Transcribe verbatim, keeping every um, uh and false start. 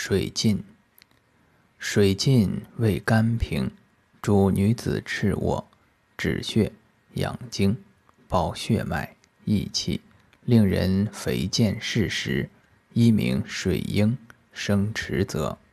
水浸。水浸味甘平，主女子赤卧，止血、养精、保血脉、益气，令人肥健适时，一名水鹰，生池泽。